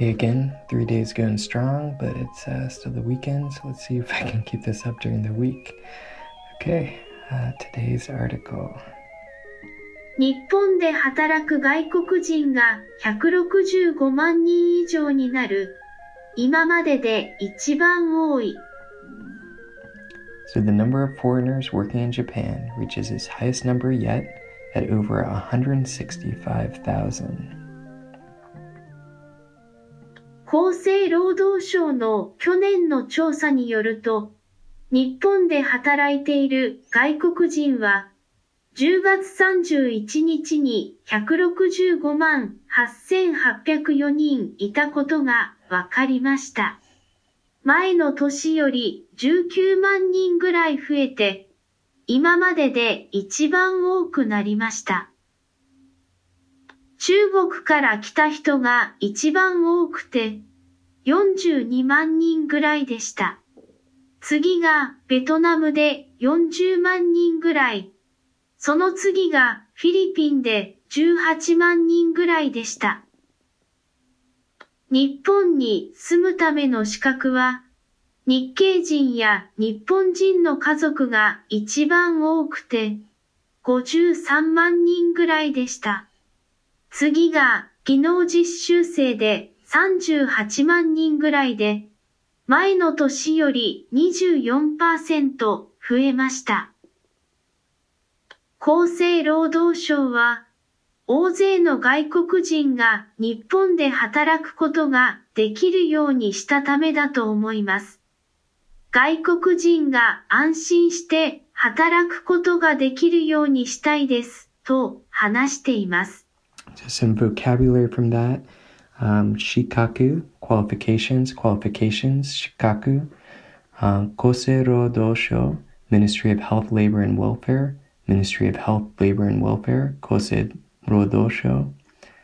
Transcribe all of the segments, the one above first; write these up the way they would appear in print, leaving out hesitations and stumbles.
Hey again, 3 days going strong, but it's still the weekend, so let's see if I can keep this up during the week. Okay, today's article. 日本で働く外国人が165万人以上になる。今までで一番多い。 So the number of foreigners working in Japan reaches its highest number yet at over 165,000. 厚生労働省の去年の調査によると、日本で働いている外国人は、10月31日に165万8804人いたことが分かりました。前の年より19万人ぐらい増えて、今までで一番多くなりました。中国から来た人が一番多くて、42万人ぐらいでした。次がベトナムで40万人ぐらい。その次がフィリピンで18万人ぐらいでした。日本に住むための資格は、日系人や日本人の家族が一番多くて、53万人ぐらいでした。次が技能実習生で38万人ぐらいで、前の年より 24% 増えました。厚生労働省は、大勢の外国人が日本で働くことができるようにしたためだと思います。外国人が安心して働くことができるようにしたいです、と話しています。 So some vocabulary from that. Shikaku, qualifications, shikaku. Kosei Rodosho, Ministry of Health, Labor and Welfare, Ministry of Health, Labor and Welfare, Kosei Rodosho.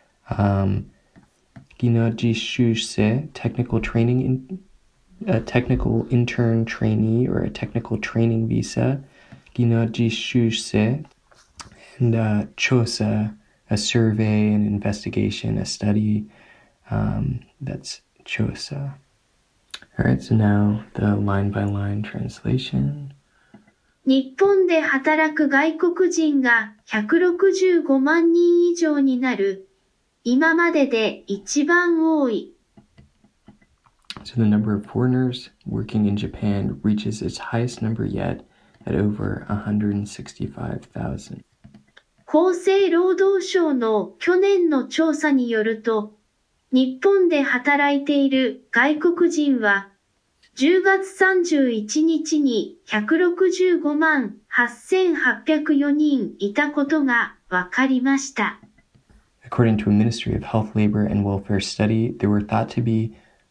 Ginojishuse, technical training, a technical intern trainee or a technical training visa. Ginojishuse, and chosa, a survey, an investigation, a study. That's chosa. All right, so now the line-by-line translation. 日本で働く外国人が165万人以上になる。今までで一番多い。 So the number of foreigners working in Japan reaches its highest number yet at over 165,000. 厚生労働省の去年の調査によると、日本で働いている外国人は、10月31日に165万8804人いたことが分かりました。 According to a Ministry of Health, Labor and Welfare study, there were thought to be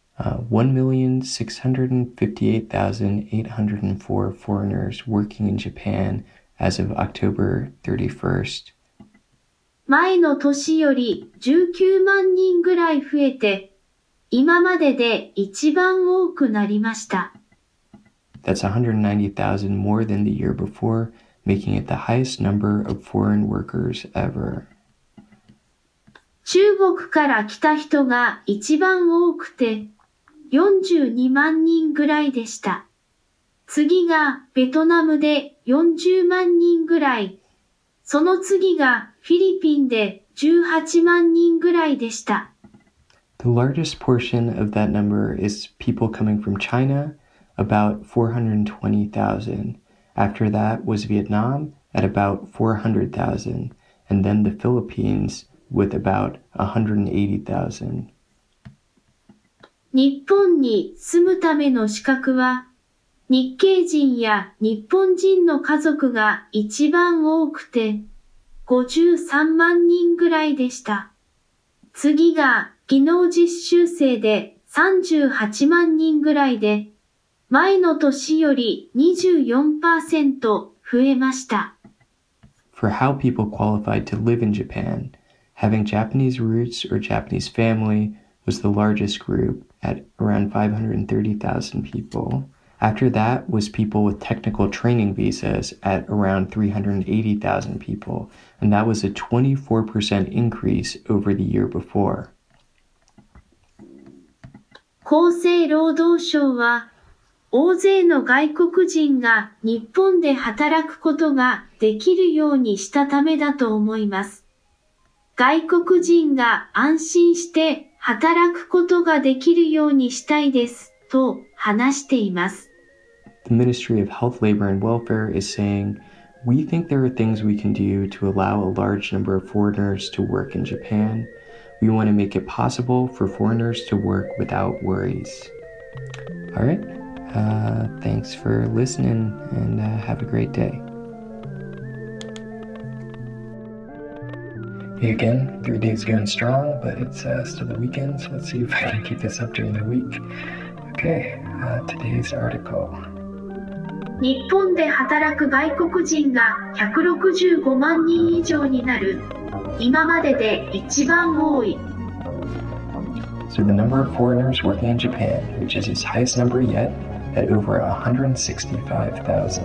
1,658,804 foreigners working in Japan as of October 31st. 前の年より19万人ぐらい増えて、今までで一番多くなりました。 That's 190,000 more than the year before, making it the highest number of foreign workers ever. 中国から来た人が一番多くて、42万人ぐらいでした。次がベトナムで40万人ぐらい。その次がフィリピンで18万人ぐらいでした。 The largest portion of that number is people coming from China, about 420,000. After that was Vietnam at about 400,000, and then the Philippines with about 180,000. 日本に住むための資格は、日系人や日本人の家族が一番多くて、53万人ぐらいでした。次が技能実習生で38万人ぐらいで、前の年より 24% 増えました。 For how people qualified to live in Japan, having Japanese roots or Japanese family was the largest group at around 530,000 people. After that was people with technical training visas at around 380,000 people, and that was a 24% increase over the year before. 厚生労働省は、大勢の外国人が日本で働くことができるようにしたためだと思います。外国人が安心して働くことができるようにしたいですと話しています。 The Ministry of Health, Labor and Welfare is saying, "We think there are things we can do to allow a large number of foreigners to work in Japan. We want to make it possible for foreigners to work without worries." All right. Thanks for listening and have a great day. Hey again, 3 days going strong, but it's still the weekend, so let's see if I can keep this up during the week. Okay, today's article. 日本で働く外国人が165万人以上になる。今までで一番多い。 So the number of foreigners working in Japan reaches its highest number yet at over 165,000.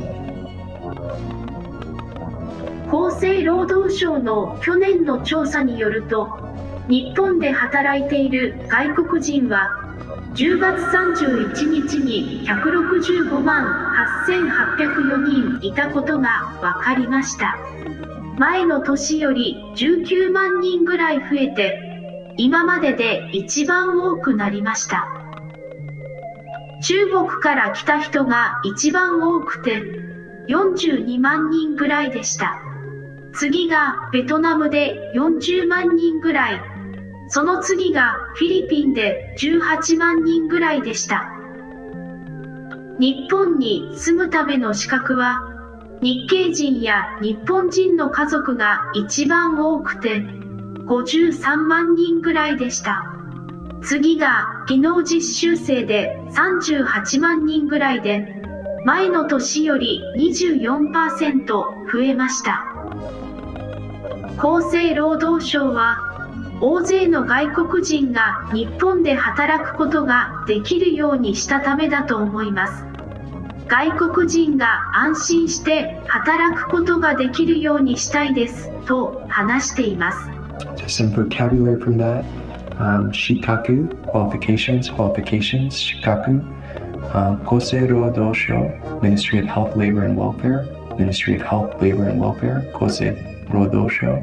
厚生労働省の去年の調査によると、日本で働いている外国人は10月31日に165万8804人いたことが分かりました。前の年より19万人ぐらい増えて、今までで一番多くなりました。中国から来た人が一番多くて、42万人ぐらいでした。次がベトナムで40万人ぐらい。その次がフィリピンで18万人ぐらいでした。日本に住むための資格は、日系人や日本人の家族が一番多くて、53万人ぐらいでした。次が技能実習生で38万人ぐらいで、前の年より 24% 増えました。厚生労働省は、大勢の外国人が日本で働くことができるようにしたためだと思います。外国人が安心して働くことができるようにしたいですと話しています。 Just some vocabulary from that. Shikaku, qualifications, shikaku. Kosei Roudou Shou, Ministry of Health, Labor and Welfare. Ministry of Health, Labor and Welfare, Kosei Roudou Shou.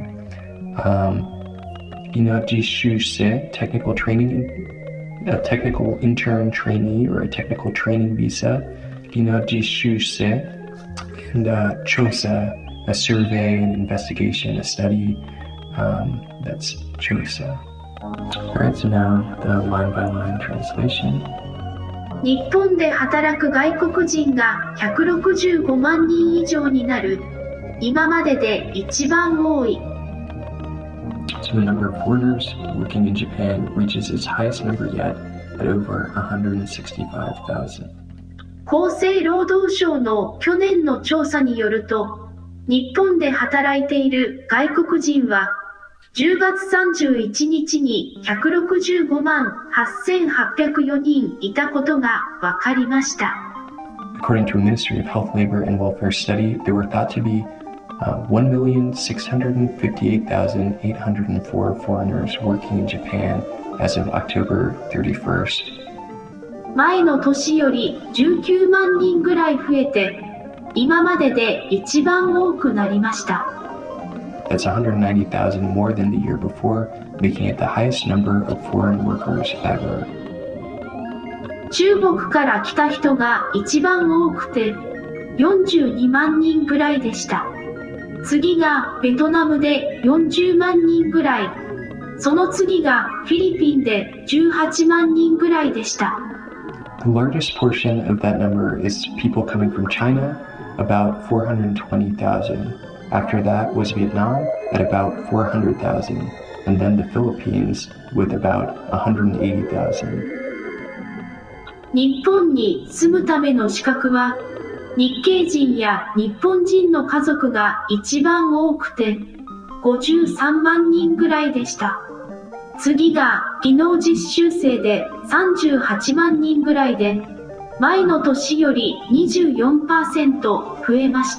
Jishuse, technical training, a technical intern trainee or a technical training visa. Jishuse, and Chosa, a survey, an investigation, a study. That's Chosa. Alright, so now the line-by-line translation. 日本で働く外国人が165万人以上になる。今までで一番多い。 So the number of foreigners working in Japan reaches its highest number yet at over 165,000. 厚生労働省の去年の調査によると、日本で働いている外国人は10月31日に165万8804人いたことが分かりました。 According to a Ministry of Health, Labor and Welfare study, there were thought to be 1,658,804 foreigners working in Japan as of October 31st. 前の年より19万人ぐらい増えて、今までで一番多くなりました。 That's 190,000 more than the year before, making it the highest number of foreign workers ever. 中国から来た人が一番多くて、42万人ぐらいでした。次がベトナムで40万人ぐらい。その次がフィリピンで18万人ぐらいでした。 The largest portion of that number is people coming from China, about 420,000. After that was Vietnam at about 400,000, and then the Philippines with about 180,000. 日本に住むための資格は、日系人や日本人の家族が一番多くて、53万人ぐらいでした。次が技能実習生で38万人ぐらいで、前の年より 24% 増えました。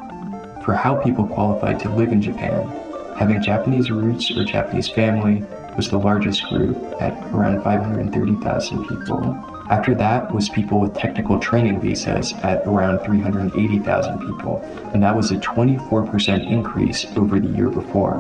For how people qualified to live in Japan, having Japanese roots or Japanese family, was the largest group at around 530,000 people. After that was people with technical training visas at around 380,000 people, and that was a 24% increase over the year before.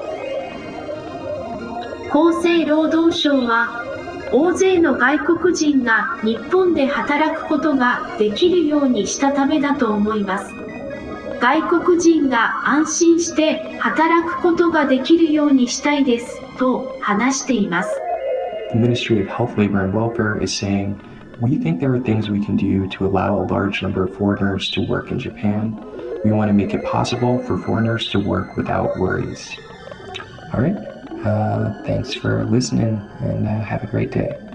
厚生労働省は、大勢の外国人が日本で働くことができるようにしたためだと思います。外国人が安心して働くことができるようにしたいですと話しています。 The Ministry of Health, Labor and Welfare is saying, we think there are things we can do to allow a large number of foreigners to work in Japan. We want to make it possible for foreigners to work without worries. All right. Thanks for listening and have a great day.